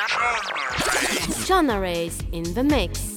Shona Rays in the mix.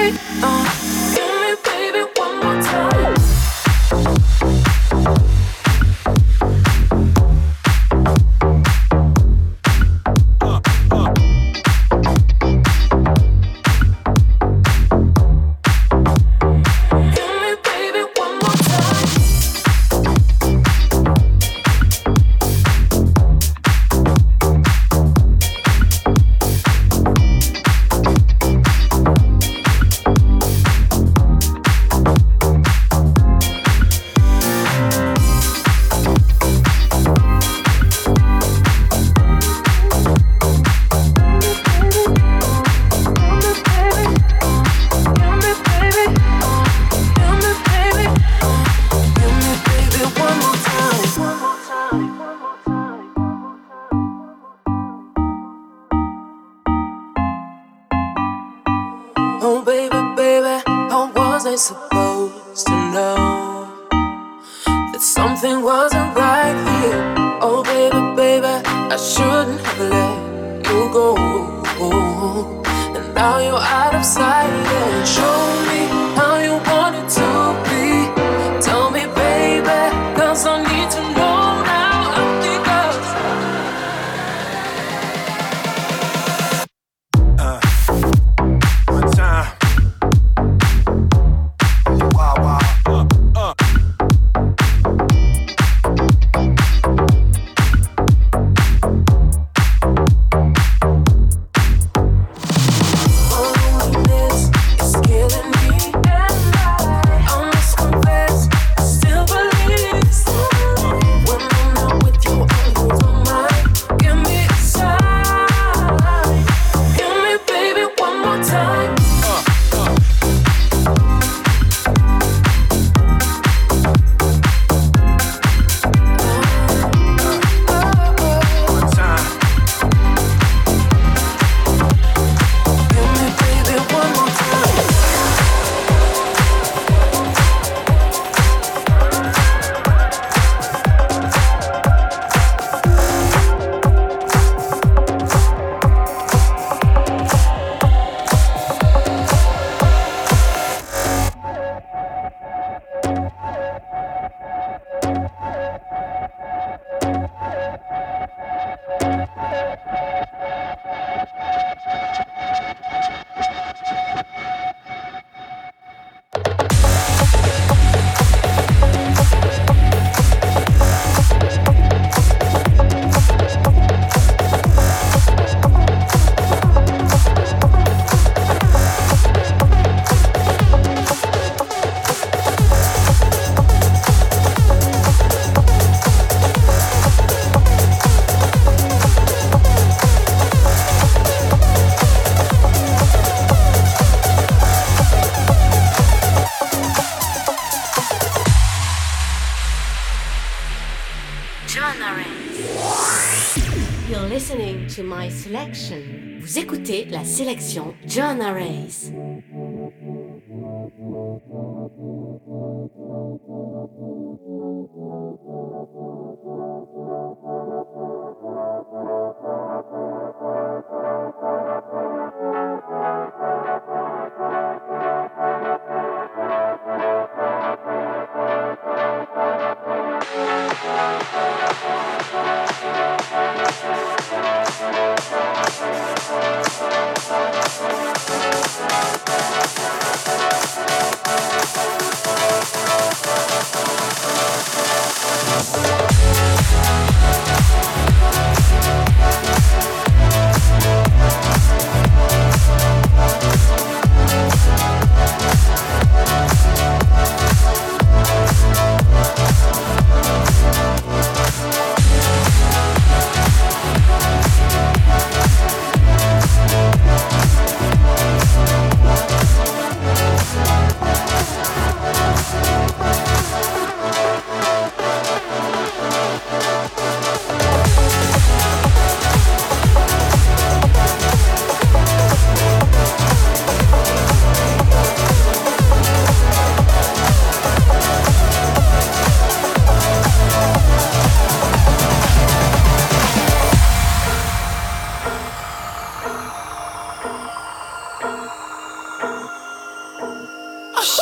To my selection. Vous écoutez la sélection John Arrays.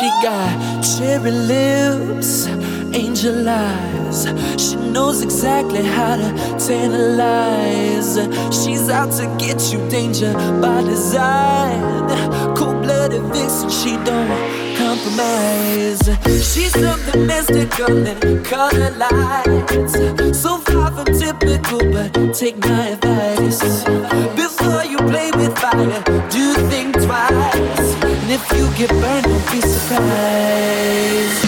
She got cherry lips, angel eyes. She knows exactly how to tantalize. She's out to get you, danger by design. Cold-blooded vixen, she don't compromise. She's something mystical and color lights. So far from typical, but take my advice. Before you play with fire, do think twice. And if you get burned, don't be surprised.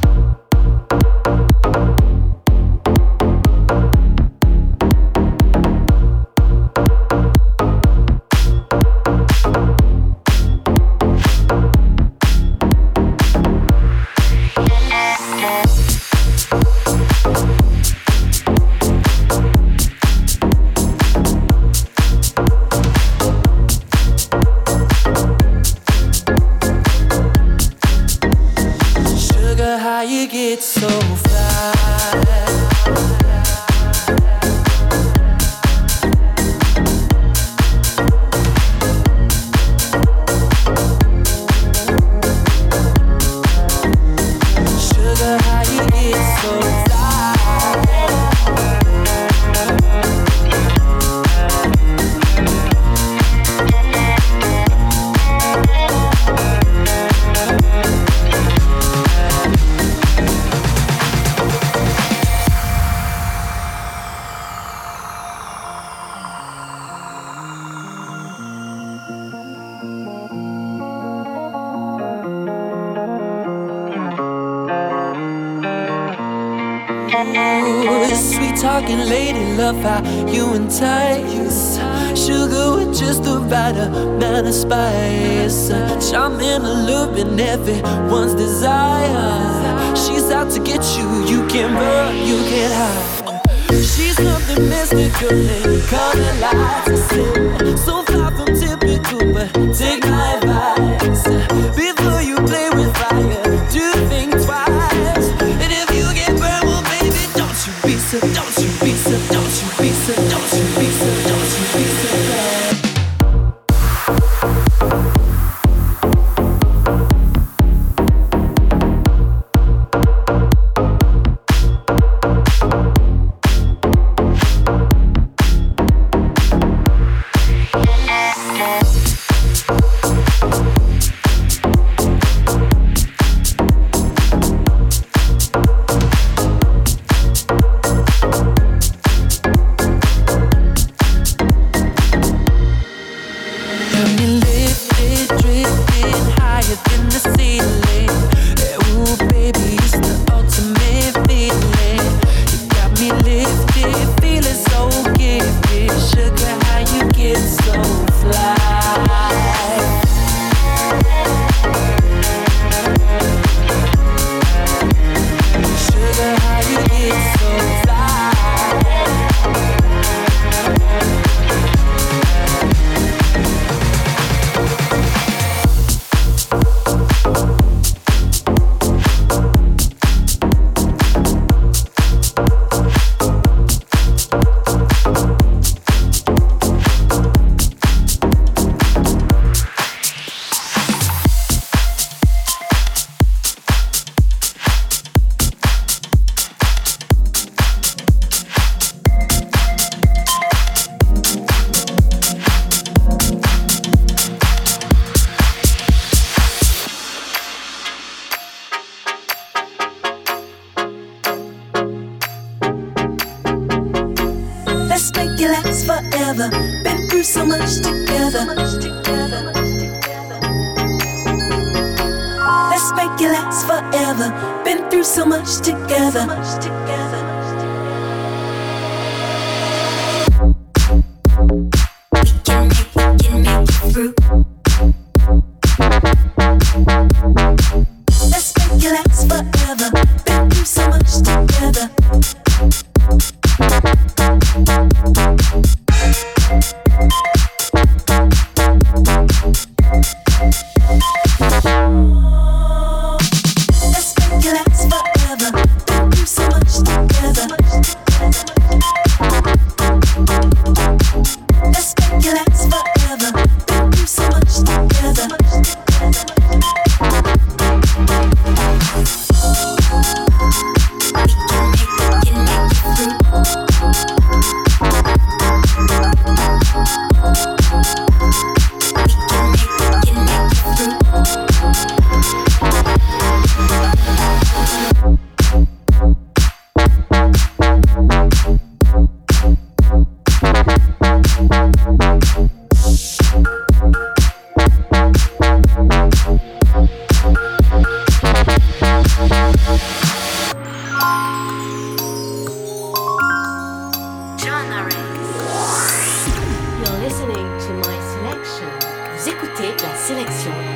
Talking lady, love how you entice. Sugar with just the right amount of spice. Charming, alluring, everyone's desire. She's out to get you, you can't run, you can't hide. She's something mystical and color lights. So far from typical, but take my advice. Before you play with fire, do think twice. And if you get burned, well baby, don't you be so, don't you be so, don't you be so, don't you be so, don't you be so bad.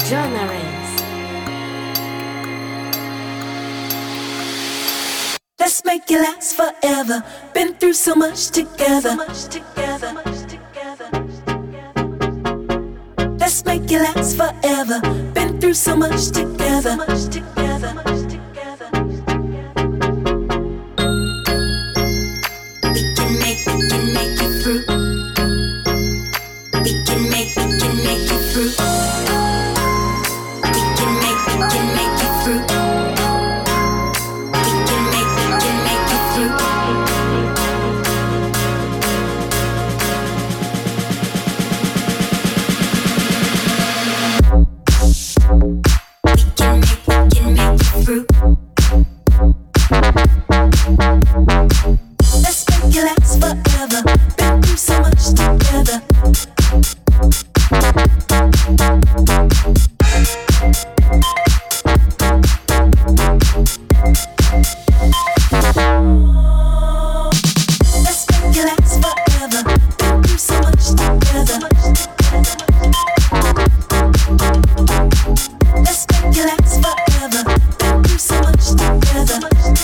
John Arez. Let's make it last forever. Been through so much together. Let's make it last forever. Been through so much together. We can make it through. We can make it through. We can make it through. We can make it through. Let's make it last forever. Been through so much together. Let's make it last forever. Been through so much together. Let's make it last forever. Been through so much together.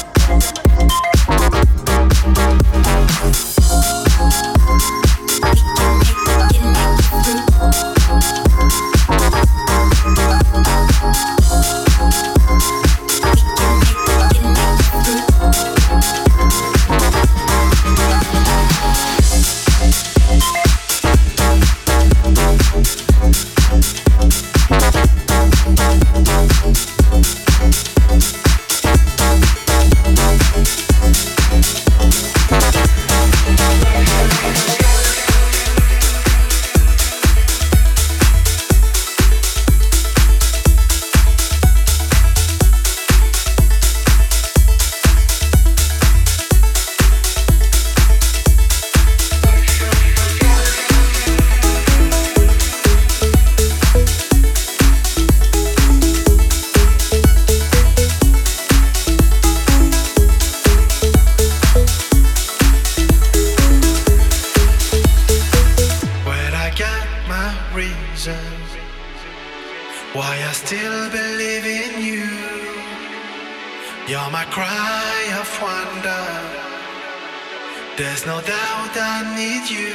Why I still believe in you. You're my cry of wonder. There's no doubt I need you.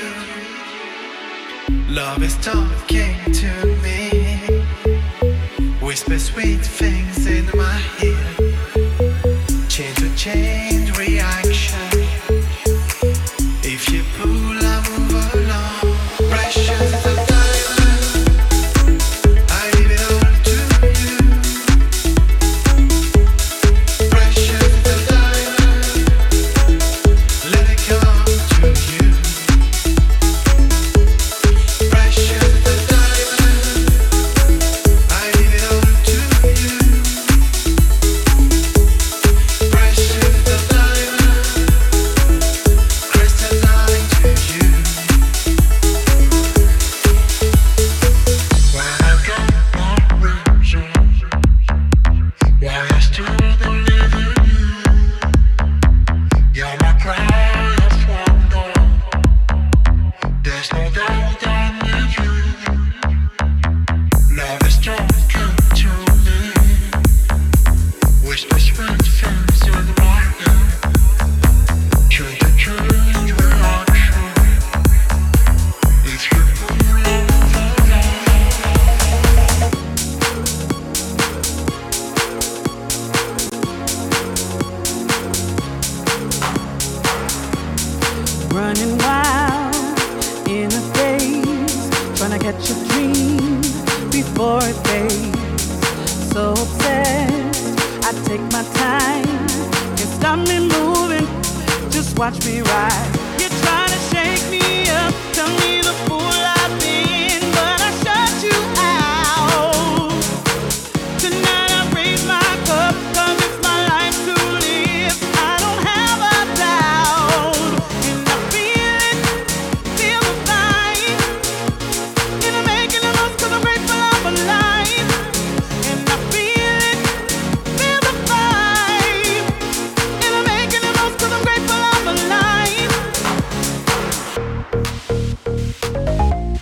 Love is talking to me. Whisper sweet things in my ear. Change to change reaction. If you pull, I move along. Precious is a diamond. I leave it all to you. Precious is a diamond. Let it come to you. Precious is a diamond. I leave it all to you. Precious is a diamond. Crystalline to you. When I got my reason why I still believe in you. You're my cry of wonder. There's no doubt I need you. Love is talking to me. Whisper sweet things in my ear. Change to change reaction. If you pull over Running wild in a daze, trying to catch a dream before it fades. So obsessed, I take my time. Can't stop me moving, just watch me ride. You're trying to shake me up, tell me the fool I've been, but I shut you out. Tonight I raise my cup, 'cause it's my life to live. I don't have a doubt, and I feel it, feel the vibe. And I'm making the most 'cause I'm grateful I'm alive. And I feel it, feel the vibe. And I'm making the most 'cause I'm grateful I'm alive.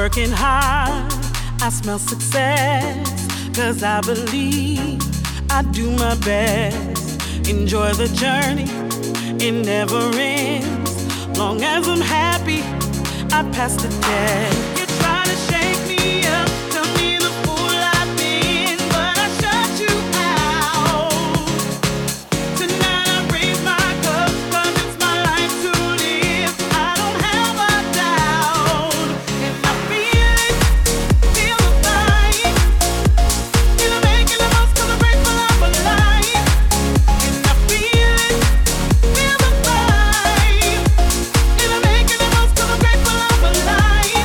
working hard, I smell success, 'cause I believe I do my best. Enjoy the journey, it never ends. Long as I'm happy, I pass the test. You try to shake me up, tell me the fool I've been, but I shut you out. Tonight I raise my cup, 'cause it's my life to live. I don't have a doubt, and I feel it, feel the fight. And I'm making the most 'cause I'm grateful I'm alive. And I feel it, feel the fight. And I'm making the most 'cause I'm grateful I'm alive.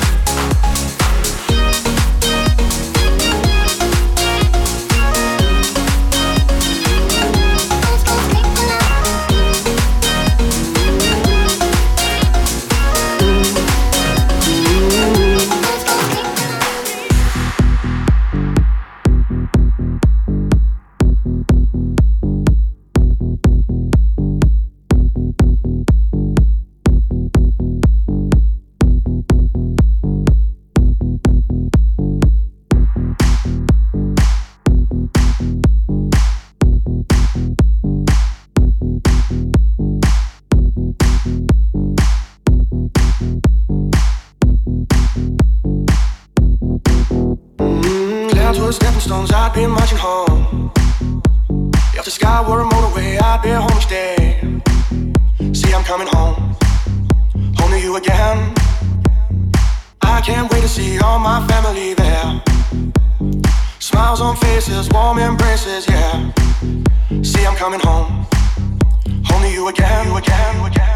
Clouds were stepping stones, I'd be marching home. If the sky were a motorway, I'd be home each day. See, I'm coming home, home to you again. I can't wait to see all my family there. Smiles on faces, warm embraces, yeah. See, I'm coming home, home to you again, you again, you again.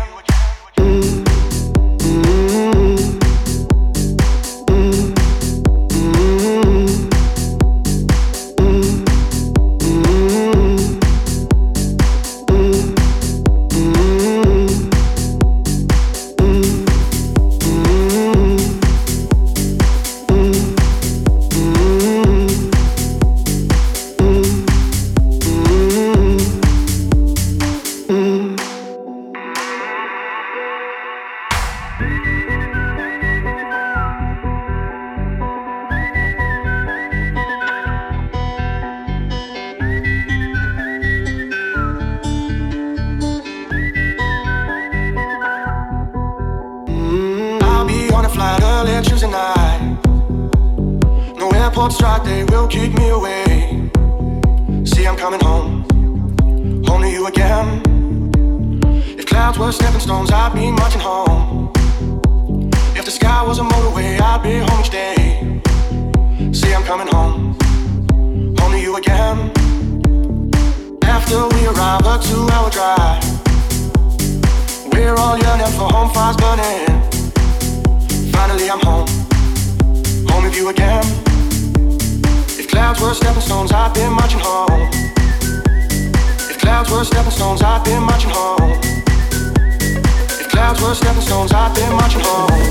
Strike, they will keep me away. See, I'm coming home, home to you again. If clouds were stepping stones, I'd be marching home. If the sky was a motorway, I'd be home each day. See, I'm coming home, home to you again. After we arrive, a 2-hour drive. We're all yearning for home fires burning. Finally, I'm home, home with you again. Clouds were stepping stones, I've been marching home. If clouds were stepping stones, I've been marching home. If clouds were stepping stones, I've been marching home.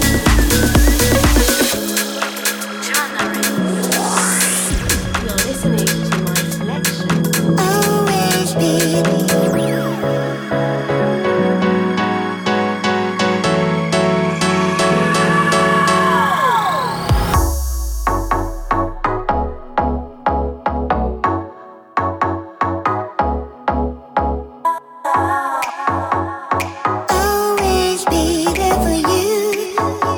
You're listening to my selection. Always be. Always be there for you.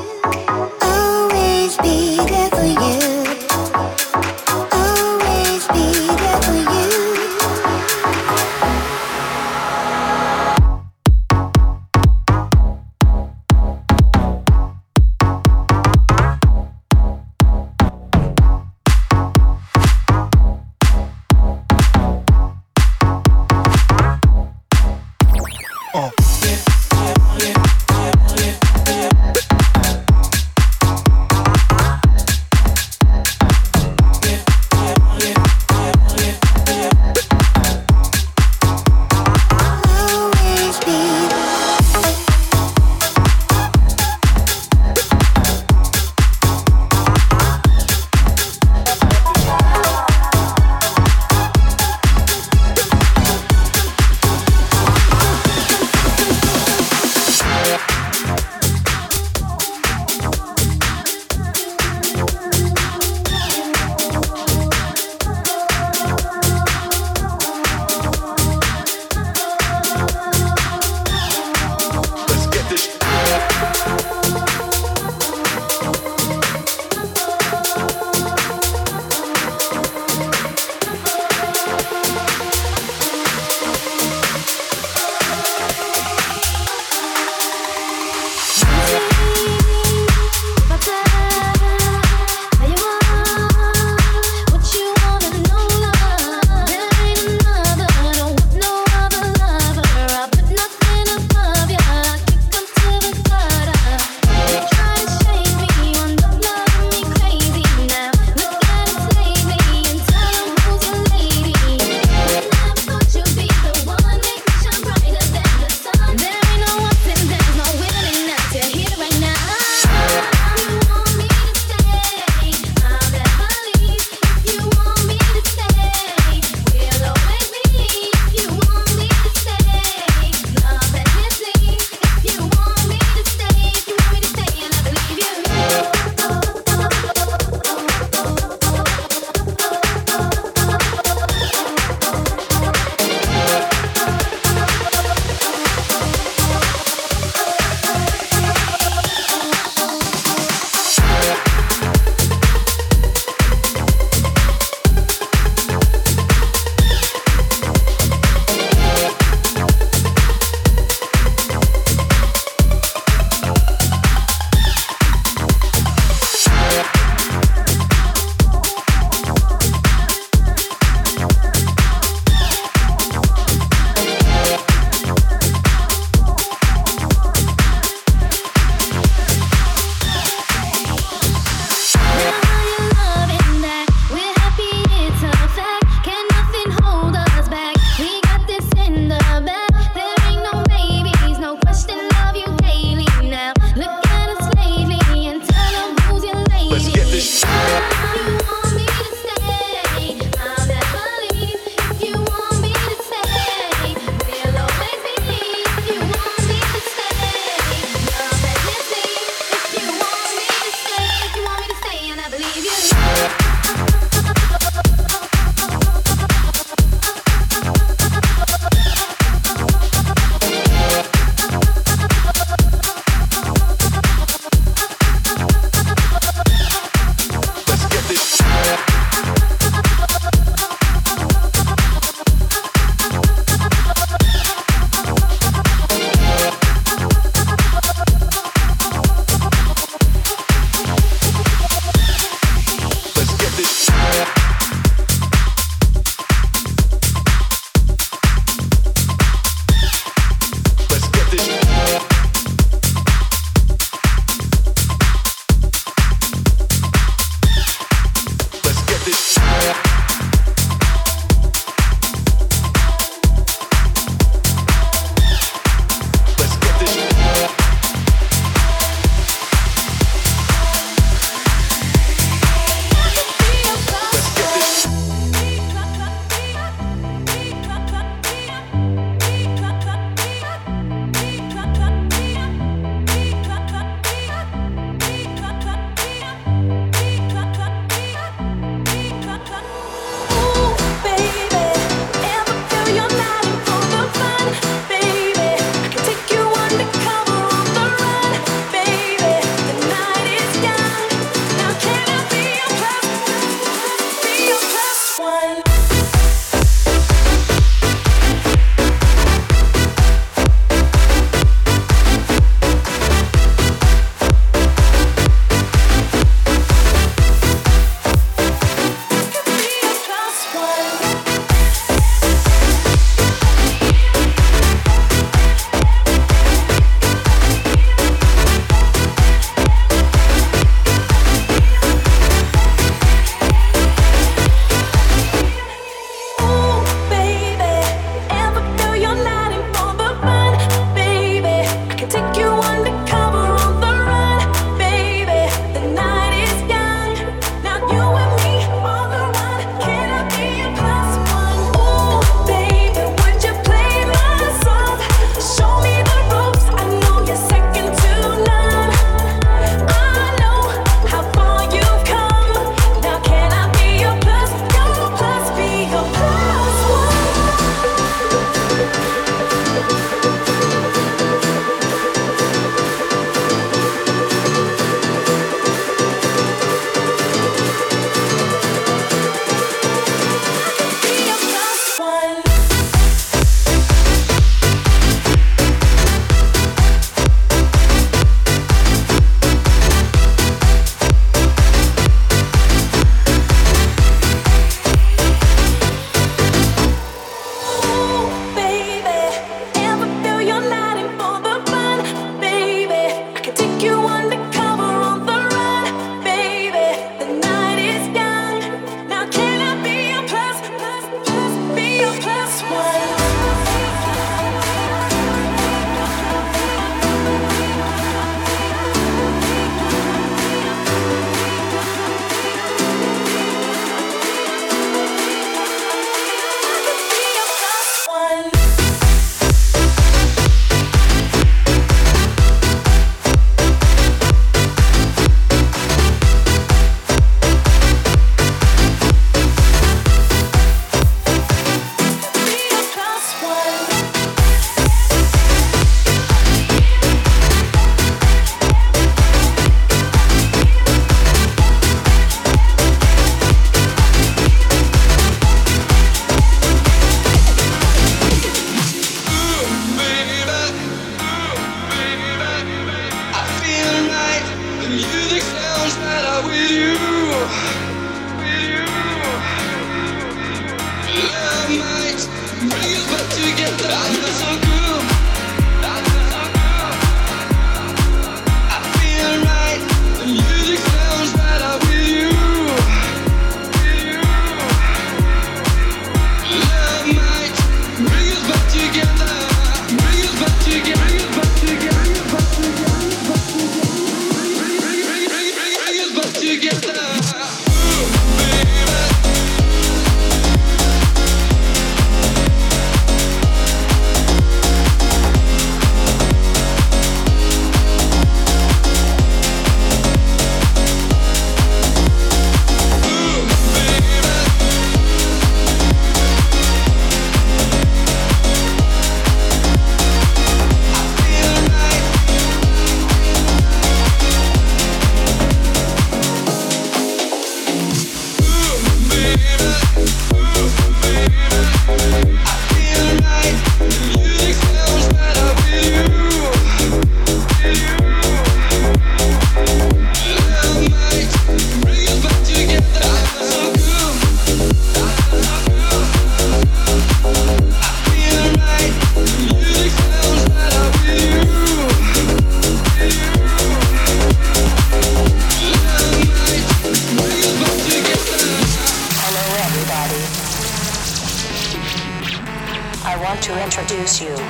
introduce you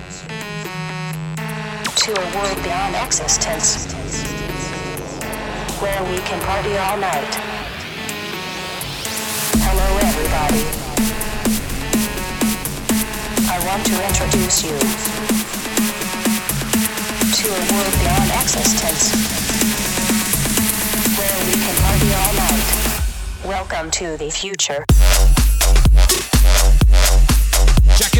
to a world beyond existence, where we can party all night. Hello everybody. I want to introduce you to a world beyond existence, where we can party all night. Welcome to the future. Jacket.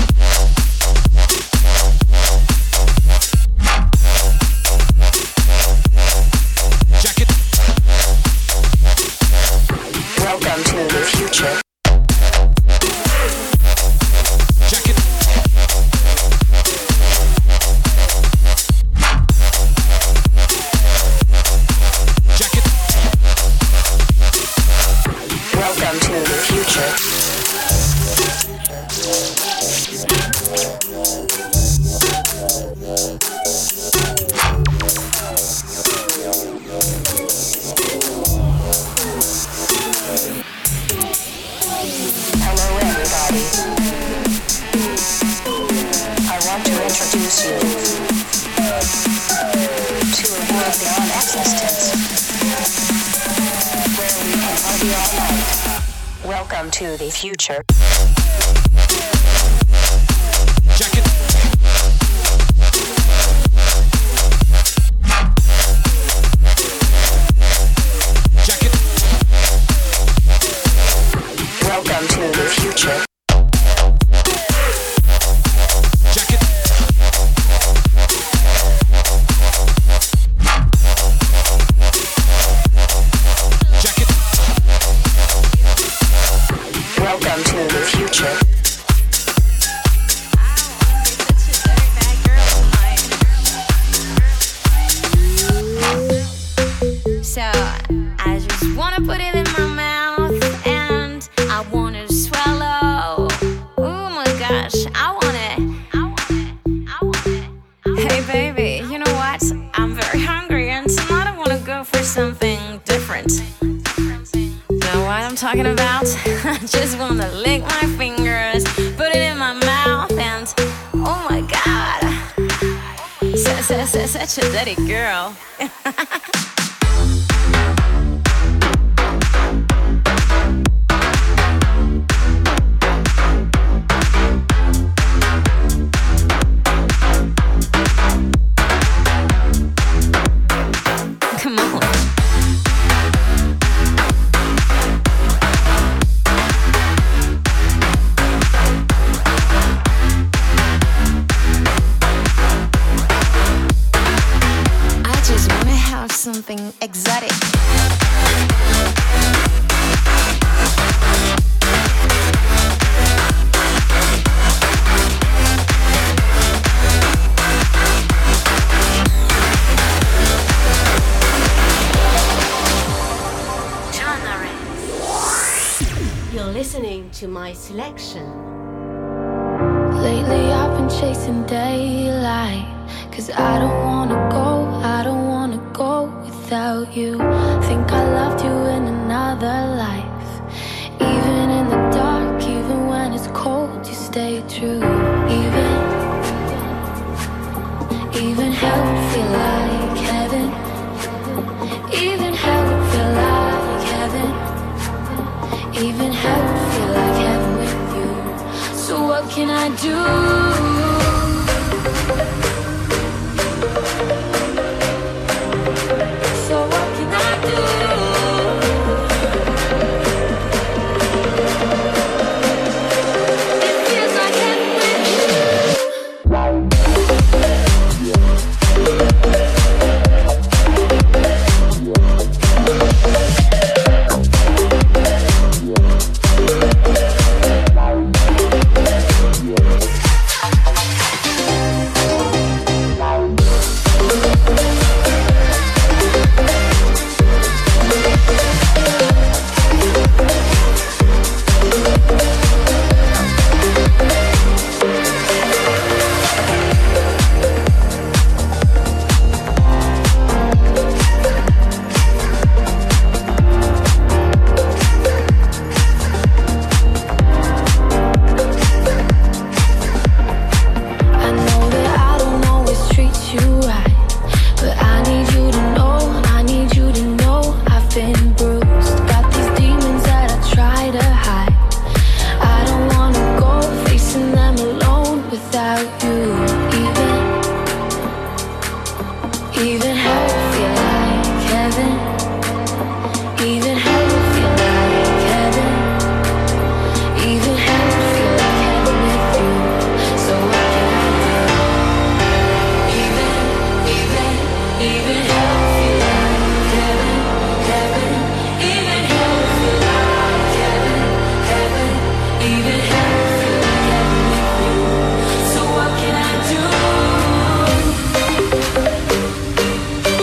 Jacket. Welcome to the future. Jacket. Jacket. Welcome to the future. Hello everybody. I want to introduce you to a world beyond existence, where we can party all night. Welcome to the future. Jacket. Jacket. Welcome to the future. Jacket. Jacket. Welcome to the future. So I just wanna put it in my mouth and I wanna swallow. Oh my gosh, I want it. Hey baby, you know what? I'm very hungry and tonight I wanna go for something different. You know what I'm talking about? I just wanna lick my fingers, put it in my mouth and oh my god. Such a dirty girl. Come on. I just wanna have something exotic. You're listening to my selection. Lately I've been chasing daylight, 'cause I don't wanna go without you. Think I loved you in another life. Even in the dark, even when it's cold, you stay true. Even hell would feel like heaven. Even hell would feel like heaven. Even hell would feel like heaven with you. So what can I do? Even hell would feel like heaven. Even hell would feel like heaven. Even hell would feel like heaven with you. So what can I do? Even hell would feel like heaven, heaven. Even hell would feel like heaven, heaven. Even hell would feel like heaven with you. So what can I do?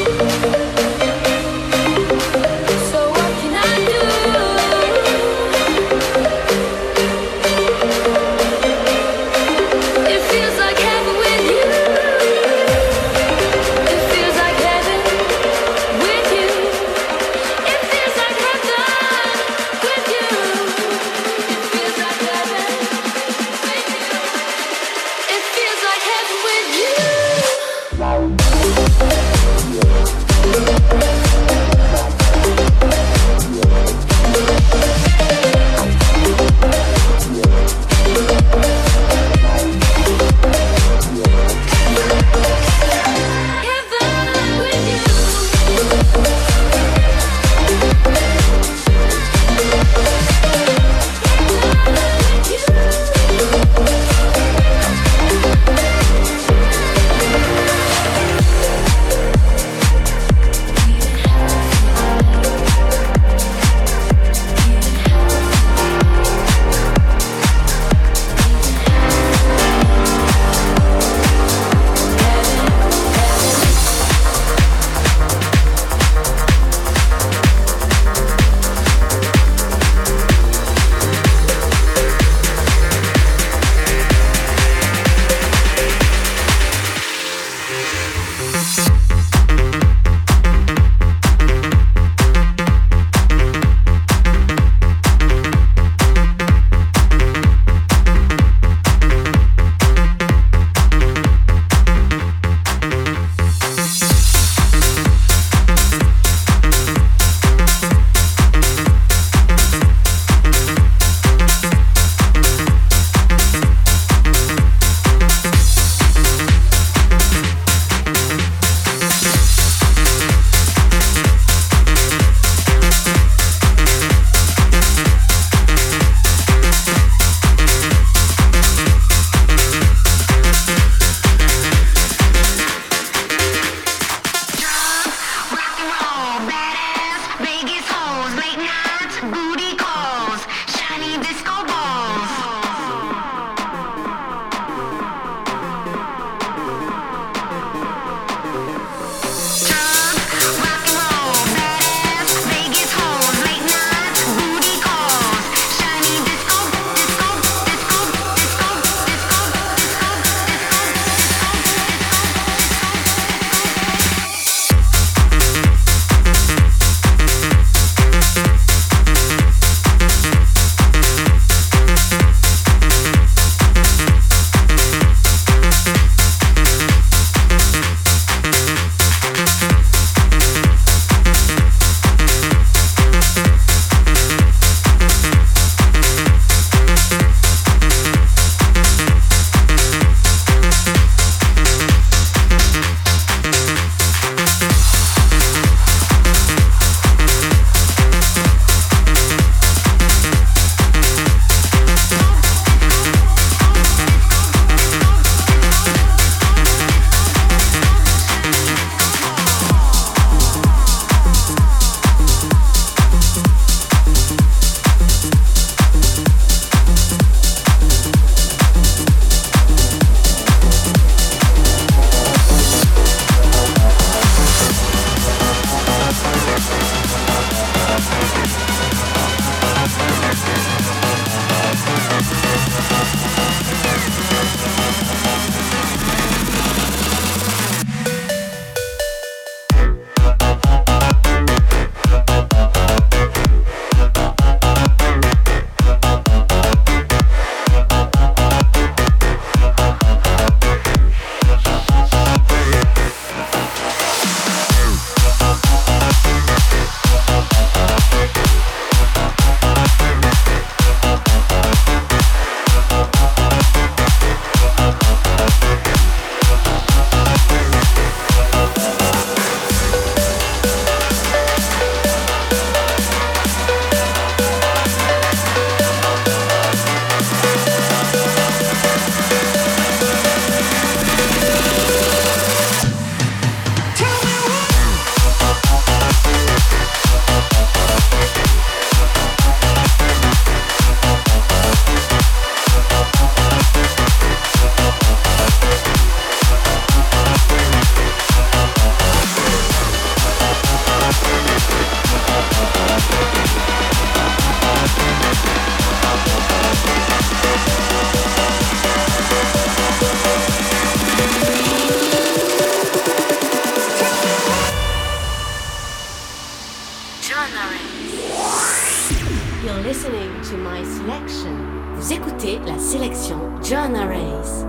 You're listening to my selection. Vous écoutez la sélection John Arrays.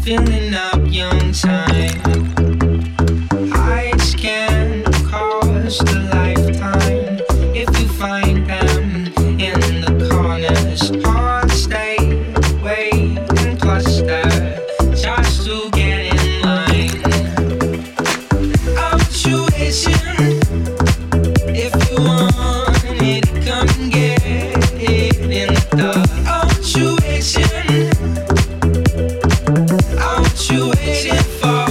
filling up young time. Eyes can cost a lifetime if you find them in the corners. Hearts stay, wait and cluster just to get in line. Punctuation, if you want it, come and get it in the punctuation. What you waiting for?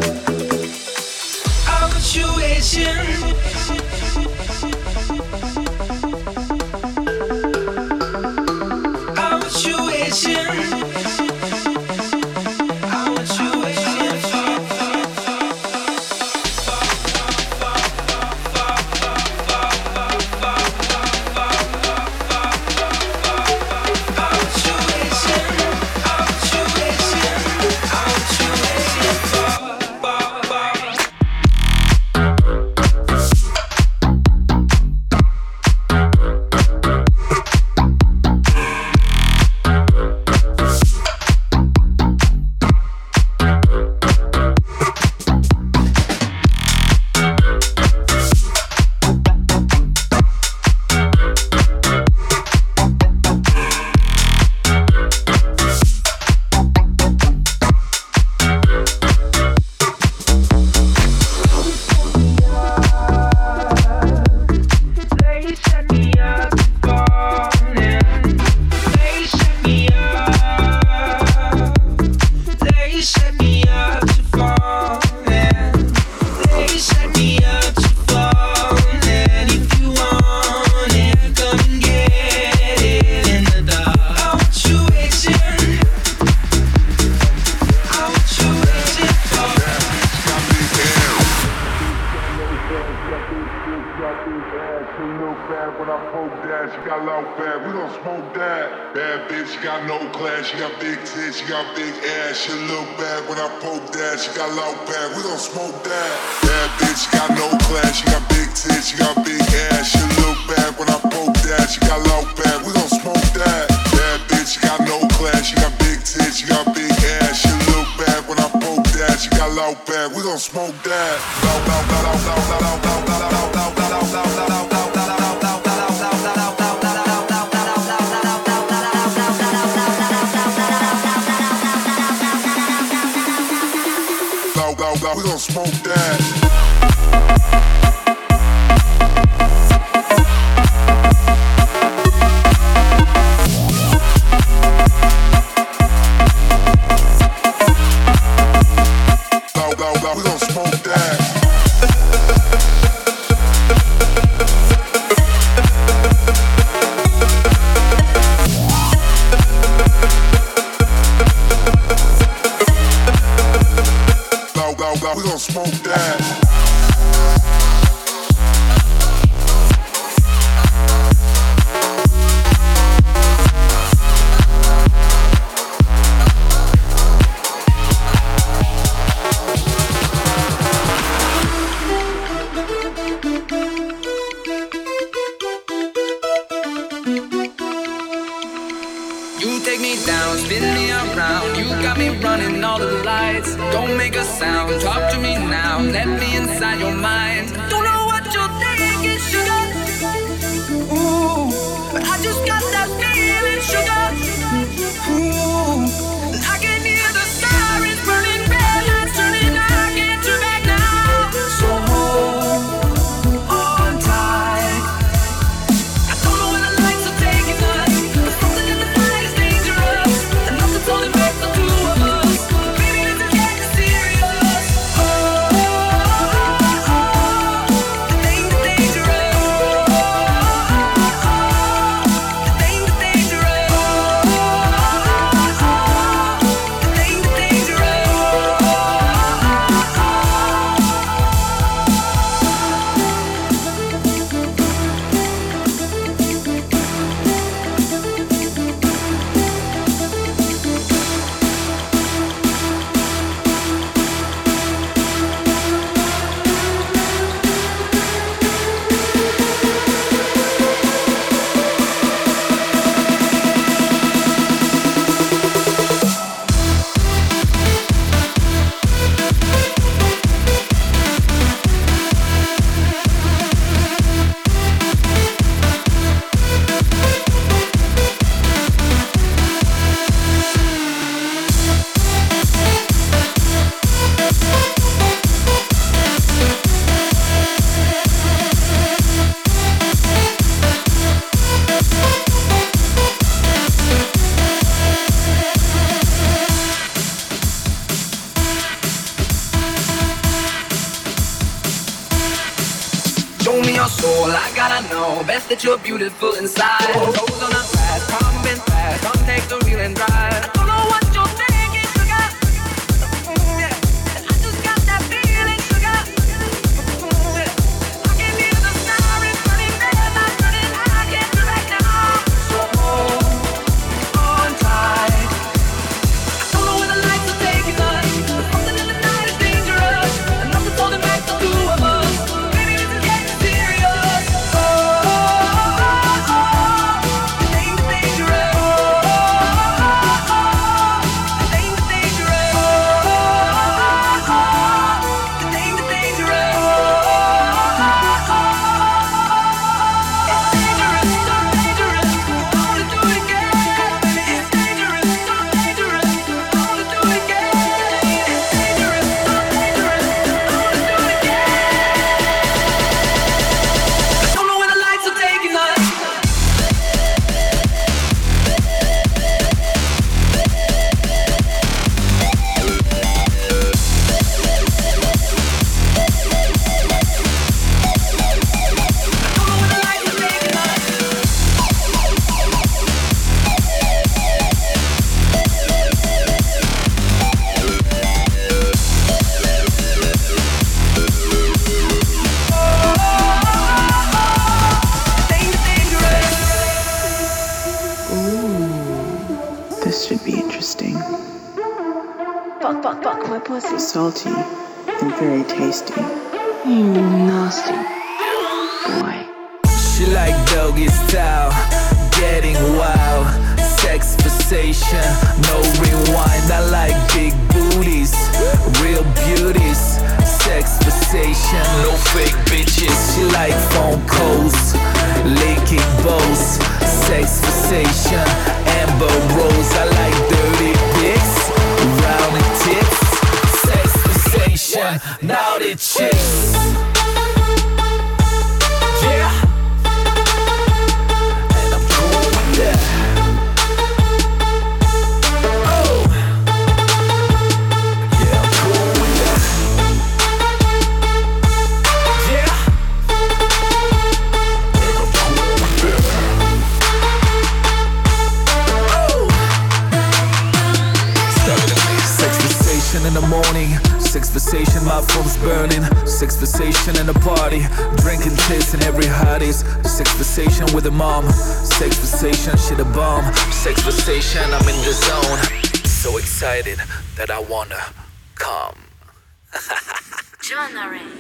What you waiting? What you waiting? What you waiting for? We gon' smoke that. We gon' smoke that. You take me down, spin me around. You got me running all of the lights. Don't make a sound, talk to me now. Let me inside your mind. Don't know what you're thinking, sugar. Ooh, but I just got that feeling, sugar. Ooh, and I can hear the sirens burning, red lights turning. I can't turn back now. So hold on tight. I don't know where the lights are taking us, but something in the night is dangerous, and nothing's holding back the two of us. Baby, let's get serious. The thing's dangerous. The thing's dangerous. your soul, I gotta know. Best that you're beautiful inside. Toes on the grass, pumping fast. Come take the wheel and drive. I don't know what you're thinking, sugar. Yeah. I just got that feeling, sugar. Yeah. I can hear the sirens running, red lights running. I can't do right now. So hold on tight. I don't know where the lights are taking us. But something in the night is dangerous. And nothing's holding back the two of us. Salty and very tasty. You nasty boy. She like doggy style, getting wild, sex fixation, no rewind. I like big booties, real beauties, sex fixation, no fake bitches. She like phone calls, licking bows, sex fixation, Amber Rose. I like dirty dicks, round tits. Now the chicks, yeah, and I'm cool with that. Oh, yeah, I'm cool with that. Yeah, and I'm cool with that. Oh, sex fixation in the morning. Sex fixation, my phone's burning. Sex fixation in the party, drinking tits in every hotties. Sex fixation with a mom. Sex fixation, shit a bomb. Sex fixation, I'm in the zone. So excited that I wanna come. Genre